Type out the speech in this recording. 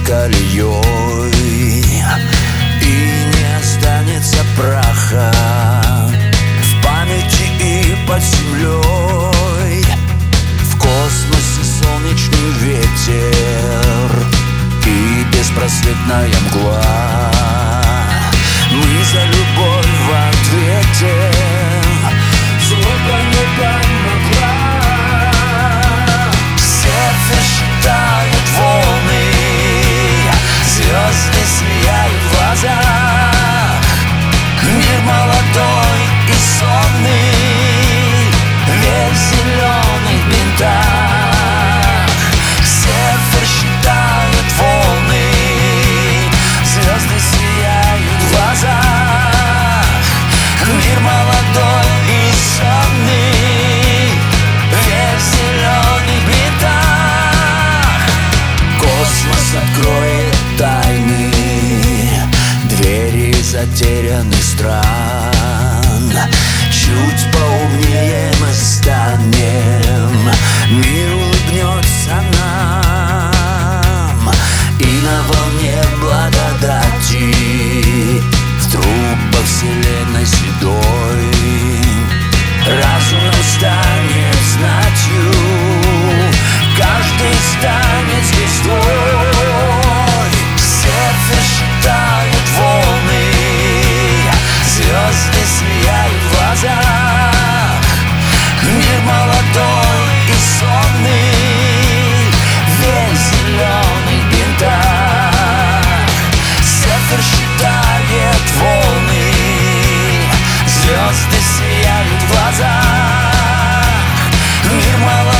колеей, и не останется праха в памяти и под землей. В космосе солнечный ветер и беспросветная мгла. Мы за любовь в ответе, злоба не помогла. Сердце считает волны, звезды сияют в глазах. Мир молодой и сонный, весь зеленый в бинтах. Сердце считает волны, звезды сияют в глазах. Мир молодой и сонный, весь зеленый в бинтах. Космос откроет тайны, двери затерянных стран. Чуть поумнее мы станем, мир улыбнется нам. И на волне благодати в трубах вселенной седой разумом станет знатью, каждый станет звездой. Сердце считает волны, звезды сияют в глазах. Мир молодой и сонный, весь зеленый в бинтах. Сердце считает волны, звезды сияют в глазах. Мир молодой